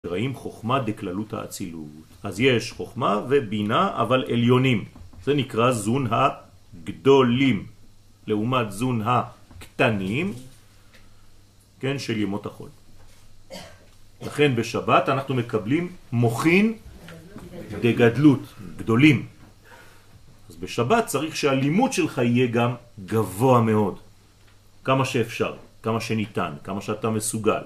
ראים חוכמה דקללות האצילות. אז יש חוכמה ובינה, אבל עליונים. זה נקרא זון הגדולים, לעומת זון הקטנים, כן, של ימות החול. לכן בשבת אנחנו מקבלים מוחין דגדלות, גדולים. אז בשבת צריך שהלימוד שלך יהיה גם גבוה מאוד. כמה שאפשר, כמה שניתן, כמה שאתה מסוגל.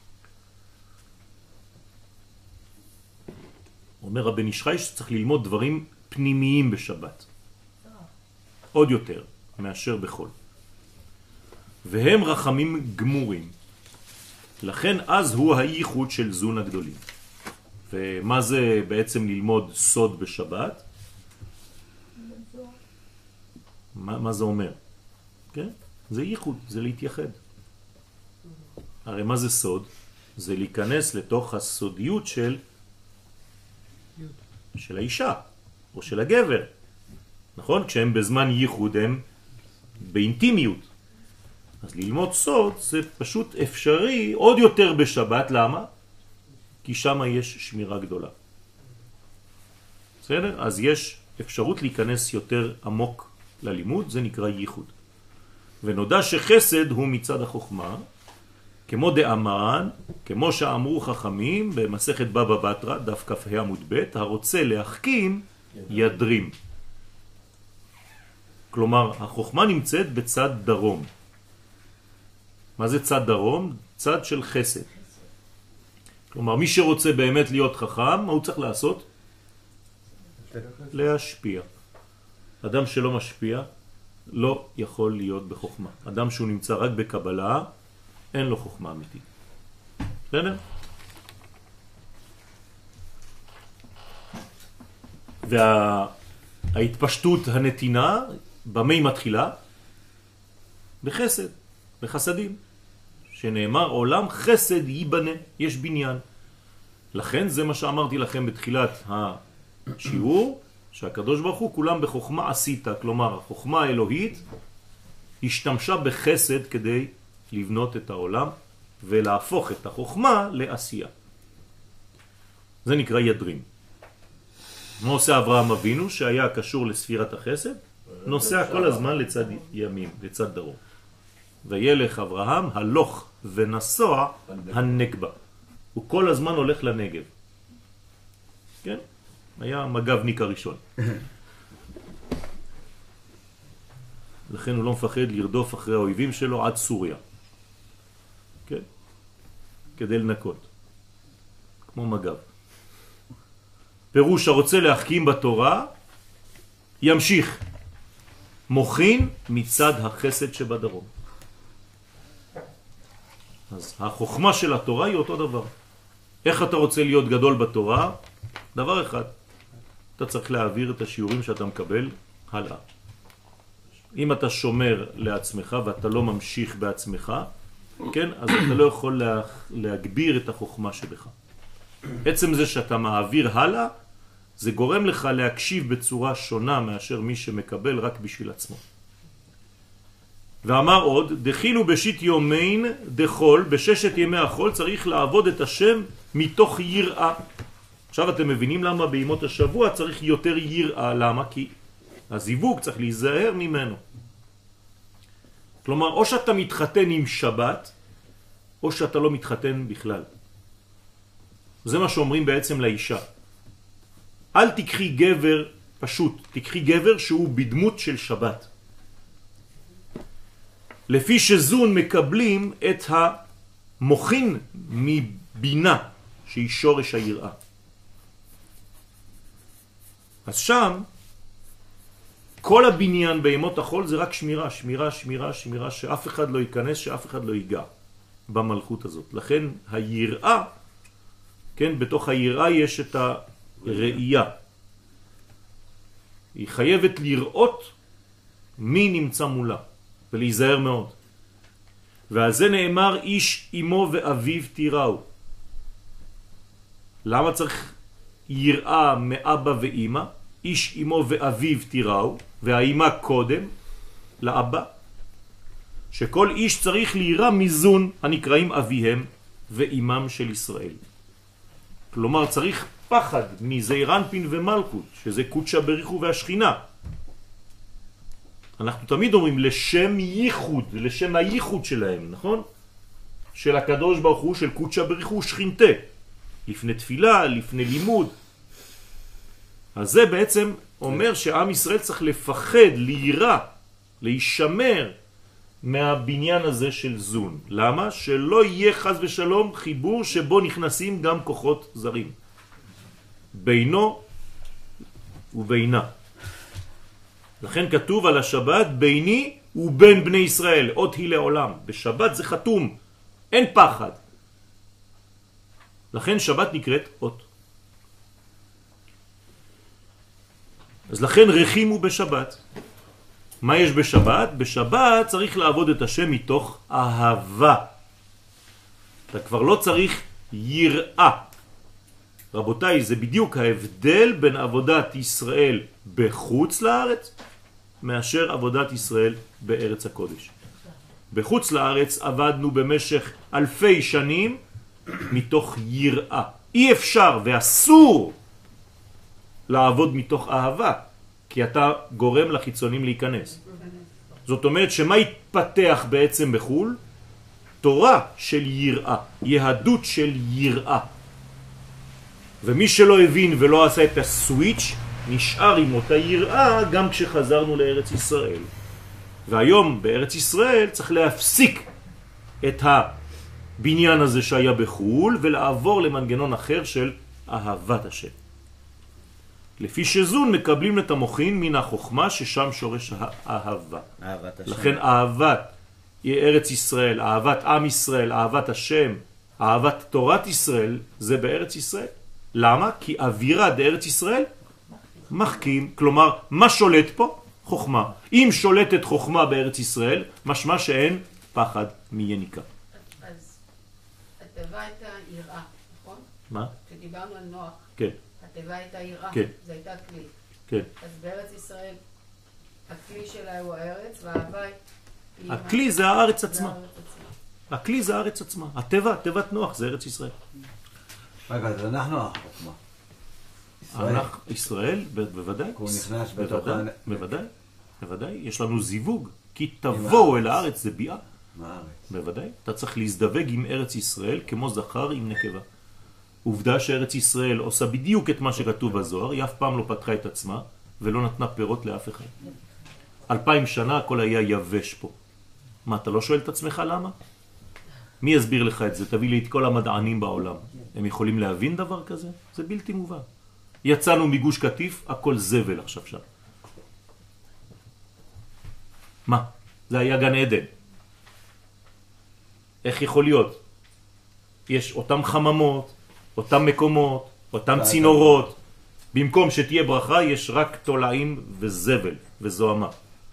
אומר רבן איש חי שצריך ללמוד דברים פנימיים בשבת. עוד יותר מאשר בחול. והם רחמים גמורים. לכן אז הוא הייחוד של זון הגדולים. ומה זה בעצם ללמוד סוד בשבת? מה זה אומר? כן? זה ייחוד, זה להתייחד. הרי מה זה סוד? זה להיכנס לתוך הסודיות של האישה או של הגבר. נכון? כשהם בזמן ייחוד הם באינטימיות. אז ללמוד סוד זה פשוט אפשרי עוד יותר בשבת. למה? כי שם יש שמירה גדולה. בסדר? אז יש אפשרות להיכנס יותר עמוק ללימוד, זה נקרא ייחוד. ונודע שחסד הוא מצד החוכמה, כמו דאמרן, כמו שאמרו חכמים במסכת בבא בתרא, דף כ"ה עמוד ב', הרוצה להחכים ידרים. כלומר, החוכמה נמצאת בצד דרום. מה זה צד דרום? צד של חסד. כלומר, מי שרוצה באמת להיות חכם, מה הוא צריך לעשות? להשפיע. אדם שלא משפיע לא יכול להיות בחוכמה. אדם שהוא נמצא רק בקבלה, אין לו חוכמה אמיתית. בסדר? וההתפשטות הנתינה, במה היא מתחילה? בחסד, בחסדים. שנאמר עולם חסד ייבנה, יש בניין. לכן זה מה שאמרתי לכם בתחילת השיעור, שהקדוש ברוך הוא כולם בחוכמה עשית, כלומר החוכמה האלוהית השתמשה בחסד כדי לבנות את העולם ולהפוך את החוכמה לעשייה. זה נקרא ידרים. מה עושה אברהם אבינו שהיה קשור לספירת החסד? נוסע כל הזמן לצד ימין, לצד דרום. וילך אברהם הלוך ונסוע הנגבה. הוא כל הזמן הולך לנגב. כן? היה מגבניק הראשון. לכן הוא לא מפחד לרדוף אחרי האויבים שלו עד סוריה. כן? כדי לנקות. כמו מגב. פירוש הרוצה להחכים בתורה, ימשיך. מוכין מצד החסד שבדרום. אז החוכמה של התורה היא אותו דבר. איך אתה רוצה להיות גדול בתורה? דבר אחד. אתה צריך להעביר את השיעורים שאתה מקבל הלאה. אם אתה שומר לעצמך ואתה לא ממשיך בעצמך, כן? אז אתה לא יכול להגביר את החוכמה שבך. עצם זה שאתה מעביר הלאה, זה גורם לך להקשיב בצורה שונה מאשר מי שמקבל רק בשביל עצמו. ואמר עוד, דחילו בשיט יומין דחול, בששת ימי החול צריך לעבוד את השם מתוך יראה. עכשיו אתם מבינים למה בימות השבוע צריך יותר יראה. למה? כי הזיווג צריך להיזהר ממנו. כלומר, או שאתה מתחתן עם שבת, או שאתה לא מתחתן בכלל. זה מה שאומרים בעצם לאישה. אל תקחי גבר פשוט, תקחי גבר שהוא בדמות של שבת. לפי שזון מקבלים את המוכין מבינה, שהיא שורש היראה. אז שם, כל הבניין בימות החול זה רק שמירה, שמירה, שמירה, שמירה, שאף אחד לא ייכנס, שאף אחד לא ייגע במלכות הזאת. לכן היראה, כן, בתוך היראה יש את הראייה. היא חייבת לראות מי נמצא מולה, ולהיזהר מאוד. ועל זה נאמר איש אמו ואביו תיראו. למה צריך יראה מאבא ואמא? איש אמו ואביו תיראו, והאמא קודם לאבא. שכל איש צריך לירא מזון הנקראים אביהם ואימם של ישראל. כלומר צריך פחד מזעיר אנפין ומלכות, שזה קודשא בריחו והשכינה. אנחנו תמיד אומרים לשם ייחוד, לשם הייחוד שלהם, נכון? של הקדוש ברוך הוא, של קודשא בריחו שכינתה, לפני תפילה, לפני לימוד. אז זה בעצם אומר שעם ישראל צריך לפחד, להירא, להישמר מהבניין הזה של זון. למה? שלא יהיה חס ושלום חיבור שבו נכנסים גם כוחות זרים. בינו ובינה. לכן כתוב על השבת ביני ובין בני ישראל, עוד היא לעולם. בשבת זה חתום, אין פחד. לכן שבת נקראת אות. אז לכן רחימו בשבת. מה יש בשבת? בשבת צריך לעבוד את השם מתוך אהבה. אתה כבר לא צריך יראה. רבותיי, זה בדיוק ההבדל בין עבודת ישראל בחוץ לארץ מאשר עבודת ישראל בארץ הקודש. בחוץ לארץ עבדנו במשך אלפי שנים מתוך יראה. אי אפשר ואסור לעבוד מתוך אהבה, כי אתה גורם לחיצונים להיכנס. זאת אומרת שמה יתפתח בעצם בחול? תורה של יראה, יהדות של יראה. ומי שלא הבין ולא עשה את הסוויץ' נשאר עם אותה יראה גם כשחזרנו לארץ ישראל. והיום בארץ ישראל צריך להפסיק את הבניין הזה שהיה בחול ולעבור למנגנון אחר של אהבת השם. לפי שזון מקבלים את המוחין מן החוכמה ששם שורש האהבה. לכן אהבת ארץ ישראל, אהבת עם ישראל, אהבת השם, אהבת תורת ישראל זה בארץ ישראל. למה? כי אווירה בארץ ישראל מחכים, כלומר מה שולט פה? חוכמה. אם שולטת חוכמה בארץ ישראל, משמע שאין פחד מיניקה. אז התיבה הייתה יראה, נכון? מה? כשדיברנו על נוח. כן. התיבה הייתה יראה, כן. זה הייתה כלי. כן. אז בארץ ישראל, הכלי שלה הוא הארץ, והאהבה היא... הכלי זה הארץ עצמה. הכלי זה הארץ עצמה. הטבע, תיבת נוח זה ארץ ישראל. רגע, אז אנחנו החוכמה. ישראל, בוודאי. הוא נכנס בתוך... בוודאי, בוודאי. יש לנו זיווג. כי תבואו אל הארץ זה ביאה. מהארץ. בוודאי. אתה צריך להזדווג עם ארץ ישראל כמו זכר עם נקבה. עובדה שארץ ישראל עושה בדיוק את מה שכתוב בזוהר, היא אף פעם לא פתחה את עצמה ולא נתנה פירות לאף אחד. 2000 שנה הכל היה יבש פה. מה, אתה לא שואל את עצמך למה? מי יסביר לך את זה? תביא לי את כל המדענים בעולם. הם יכולים להבין דבר כזה? זה בלתי מובן. יצאנו מגוש קטיף, הכל זבל עכשיו שם. מה? זה היה גן עדן. איך יכול להיות? יש אותם חממות, אותם מקומות, אותם צינורות. במקום שתהיה ברכה יש רק תולעים וזבל וזוהמה.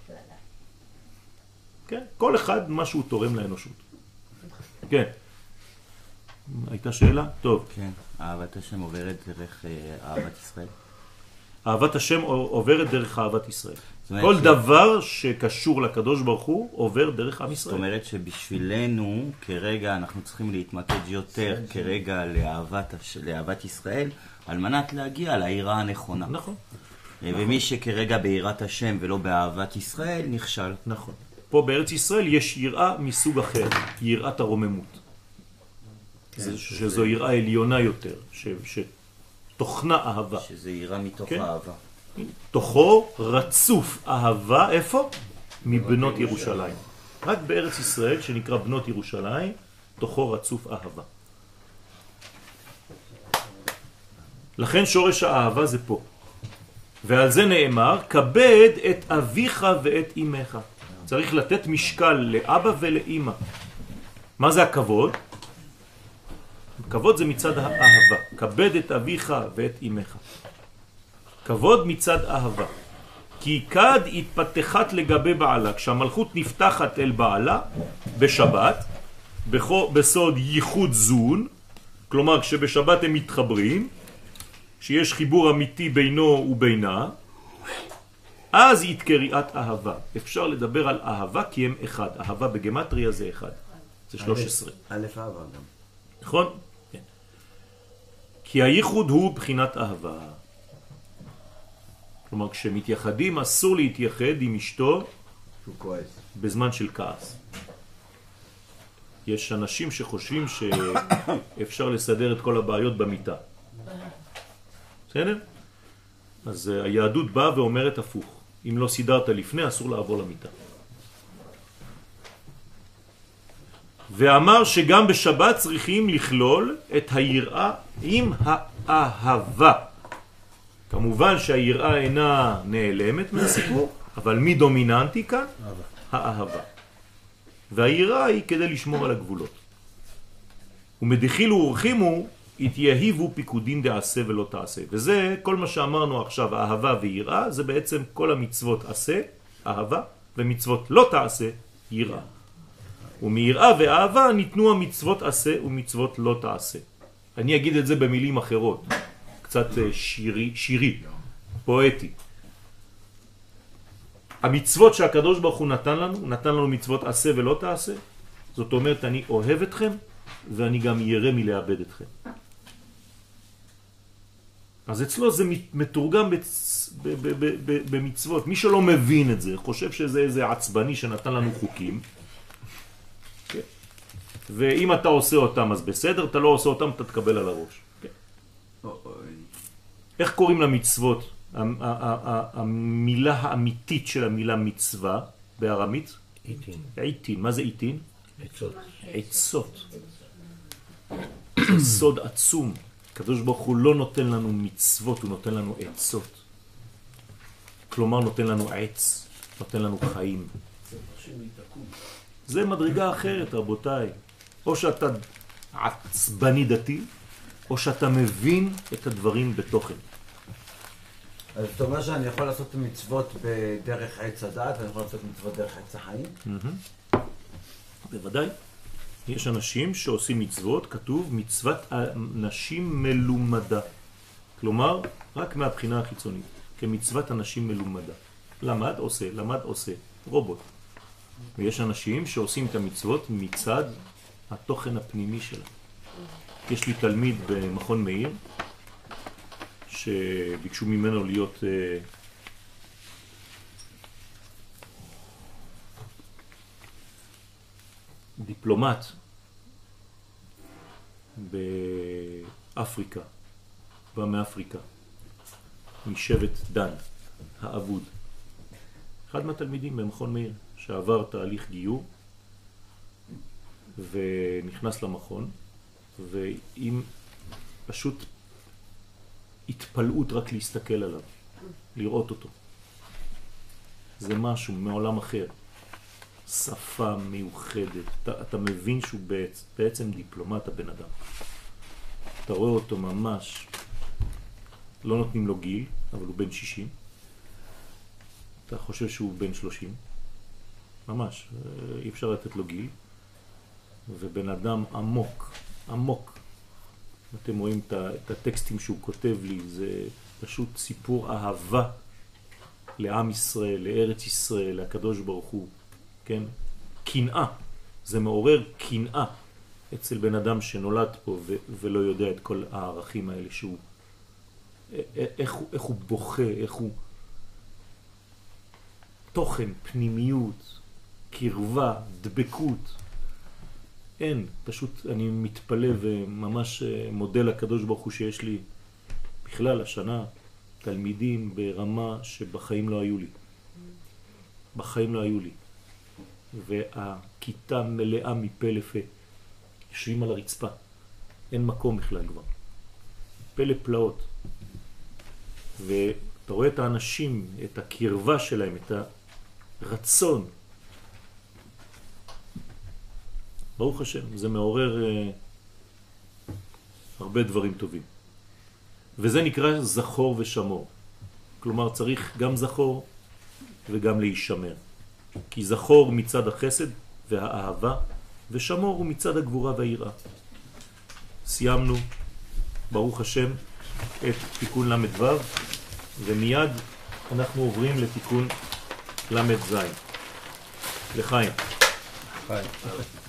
כן? כל אחד מה שהוא תורם לאנושות. כן. הייתה שאלה? טוב. כן. אהבת השם עוברת דרך אהבת ישראל? אהבת השם עוברת דרך אהבת ישראל. כל דבר שקשור לקדוש ברוך הוא עובר דרך עם ישראל. זאת אומרת שבשבילנו כרגע אנחנו צריכים להתמקד יותר כרגע לאהבת ישראל על מנת להגיע ליראה הנכונה. נכון. ומי שכרגע ביראת השם ולא באהבת ישראל נכשל. נכון. פה בארץ ישראל יש יראה מסוג אחר, יראת הרוממות. שזו יראה עליונה יותר, שתוכנה אהבה. שזה יראה מתוך אהבה. תוכו רצוף אהבה, איפה? מבנות ירושלים. רק בארץ ישראל שנקרא בנות ירושלים, תוכו רצוף אהבה. לכן שורש האהבה זה פה. ועל זה נאמר, כבד את אביך ואת אמך. צריך לתת משקל לאבא ולאמא. מה זה הכבוד? כבוד זה מצד האהבה. כבד את אביך ואת אמך. כבוד מצד אהבה. כי כד התפתחת לגבי בעלה. כשהמלכות נפתחת אל בעלה בשבת, בסוד ייחוד זון, כלומר כשבשבת הם מתחברים, שיש חיבור אמיתי בינו ובינה, אז היא קריאת אהבה. אפשר לדבר על אהבה כי הם אחד. אהבה בגמטריה זה אחד. זה 13. א' אהבה גם. נכון? כן. כי הייחוד הוא בחינת אהבה. כלומר, כשמתייחדים אסור להתייחד עם אשתו שהוא כועס. בזמן של כעס. יש אנשים שחושבים שאפשר לסדר את כל הבעיות במיטה. בסדר? אז היהדות באה ואומרת הפוך. אם לא סידרת לפני, אסור לעבור למיטה. ואמר שגם בשבת צריכים לכלול את היראה עם האהבה. כמובן שהיראה אינה נעלמת מהסיפור, אבל מי דומיננטי כאן? האהבה. והיראה היא כדי לשמור על הגבולות. ומדחילו ורחימו התייהיבו פיקודים דעשה ולא תעשה. וזה כל מה שאמרנו עכשיו, אהבה ויראה, זה בעצם כל המצוות עשה, אהבה, ומצוות לא תעשה, יראה. ומיראה ואהבה ניתנו המצוות עשה ומצוות לא תעשה. אני אגיד את זה במילים אחרות, קצת שירי, פואטי. המצוות שהקדוש ברוך הוא נתן לנו מצוות עשה ולא תעשה. זאת אומרת, אני אוהב אתכם ואני גם ירא מלאבד אתכם. אז אצלו זה מתורגם במצוות. מי שלא מבין את זה, חושב שזה איזה עצבני שנתן לנו חוקים, ואם אתה עושה אותם אז בסדר, אתה לא עושה אותם אתה תקבל על הראש. איך קוראים למצוות? המילה האמיתית של המילה מצווה בארמית? עיתין. עיתין. מה זה עיתין? עצות. עצות. זה סוד עצום. הקדוש ברוך הוא לא נותן לנו מצוות, הוא נותן לנו עצות. כלומר נותן לנו עץ, נותן לנו חיים. זה מדרגה אחרת, רבותיי. או שאתה עצבני דתי, או שאתה מבין את הדברים בתוכן. אז זאת אומרת שאני יכול לעשות מצוות בדרך עץ הדעת, ואני יכול לעשות מצוות דרך עץ החיים? בוודאי. יש אנשים שעושים מצוות, כתוב מצוות אנשים מלומדה. כלומר, רק מהבחינה החיצונית, כמצוות אנשים מלומדה. למד עושה, למד עושה, רובוט. ויש אנשים שעושים את המצוות מצד התוכן הפנימי שלה. יש לי תלמיד במכון מאיר, שביקשו ממנו להיות דיפלומט באפריקה, בא מאפריקה, משבט דן, האבוד. אחד מהתלמידים במכון מאיר, שעבר תהליך גיור, ונכנס למכון, ועם פשוט התפלאות רק להסתכל עליו, לראות אותו. זה משהו מעולם אחר. שפה מיוחדת. אתה מבין שהוא בעצם דיפלומט הבן אדם. אתה רואה אותו ממש, לא נותנים לו גיל, אבל הוא בן 60. אתה חושב שהוא בן 30. ממש, אי אפשר לתת לו גיל. ובן אדם עמוק, עמוק. אתם רואים את הטקסטים שהוא כותב לי, זה פשוט סיפור אהבה לעם ישראל, לארץ ישראל, לקדוש ברוך הוא. כן? קנאה. זה מעורר קנאה אצל בן אדם שנולד פה ולא יודע את כל הערכים האלה שהוא, איך הוא בוכה, איך הוא תוכן, פנימיות, קרבה, דבקות. אין, פשוט אני מתפלא וממש מודה לקדוש ברוך הוא שיש לי בכלל השנה תלמידים ברמה שבחיים לא היו לי. בחיים לא היו לי. והכיתה מלאה מפה לפה. יושבים על הרצפה. אין מקום בכלל כבר. פלא פלאות. ואתה רואה את האנשים, את הקרבה שלהם, את הרצון. ברוך השם, זה מעורר הרבה דברים טובים. וזה נקרא זכור ושמור. כלומר, צריך גם זכור וגם להישמר. כי זכור מצד החסד והאהבה, ושמור הוא מצד הגבורה והיראה. סיימנו, ברוך השם, את תיקון למד ו', ומיד אנחנו עוברים לתיקון למד ז'. לחיים. חיים.